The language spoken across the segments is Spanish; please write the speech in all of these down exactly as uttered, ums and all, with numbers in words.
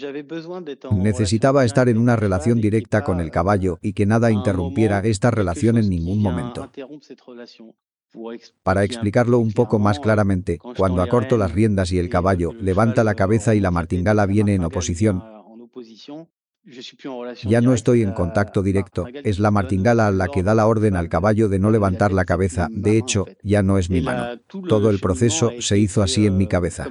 Necesitaba estar en una relación directa con el caballo y que nada interrumpiera esta relación en ningún momento. Para explicarlo un poco más claramente, cuando acorto las riendas y el caballo levanta la cabeza y la martingala viene en oposición, ya no estoy en contacto directo, es la martingala la que da la orden al caballo de no levantar la cabeza, de hecho, ya no es mi mano. Todo el proceso se hizo así en mi cabeza.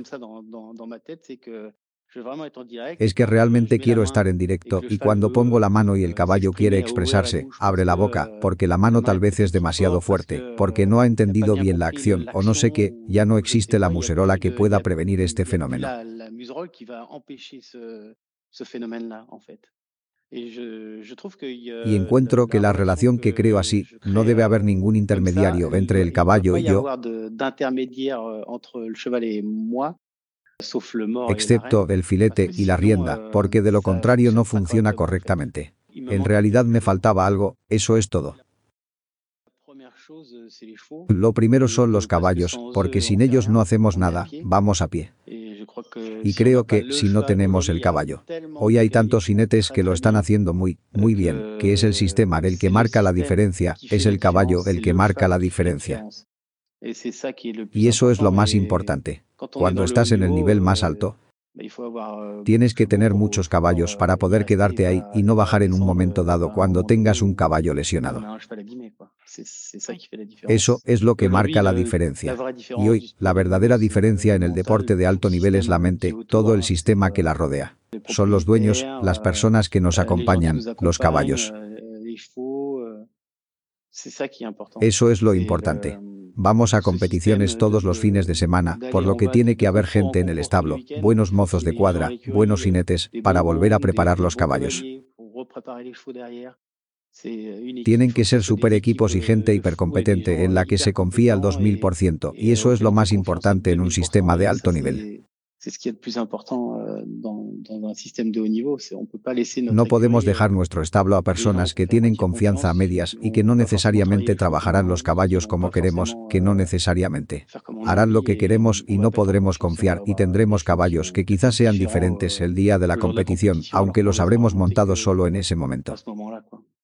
Es que realmente quiero estar en directo y cuando pongo la mano y el caballo quiere expresarse, abre la boca, porque la mano tal vez es demasiado fuerte, porque no ha entendido bien la acción o no sé qué, ya no existe la muserola que pueda prevenir este fenómeno. Y encuentro que la relación que creo así, no debe haber ningún intermediario entre el caballo y yo, excepto el filete y la rienda, porque de lo contrario no funciona correctamente. En realidad me faltaba algo, eso es todo. Lo primero son los caballos, porque sin ellos no hacemos nada, vamos a pie. Y creo que, si no tenemos el caballo, hoy hay tantos jinetes que lo están haciendo muy, muy bien, que es el sistema el que marca la diferencia, es el caballo el que marca la diferencia. Y eso es lo más importante. Cuando estás en el nivel más alto, tienes que tener muchos caballos para poder quedarte ahí y no bajar en un momento dado cuando tengas un caballo lesionado. Eso es lo que marca la diferencia. Y hoy, la verdadera diferencia en el deporte de alto nivel es la mente, todo el sistema que la rodea. Son los dueños, las personas que nos acompañan, los caballos. Eso es lo importante. Vamos a competiciones todos los fines de semana, por lo que tiene que haber gente en el establo, buenos mozos de cuadra, buenos jinetes, para volver a preparar los caballos. Tienen que ser super equipos y gente hipercompetente en la que se confía al dos mil por ciento, y eso es lo más importante en un sistema de alto nivel. No podemos dejar nuestro establo a personas que tienen confianza a medias y que no necesariamente trabajarán los caballos como queremos, que no necesariamente harán lo que queremos y no podremos confiar y tendremos caballos que quizás sean diferentes el día de la competición, aunque los habremos montado solo en ese momento.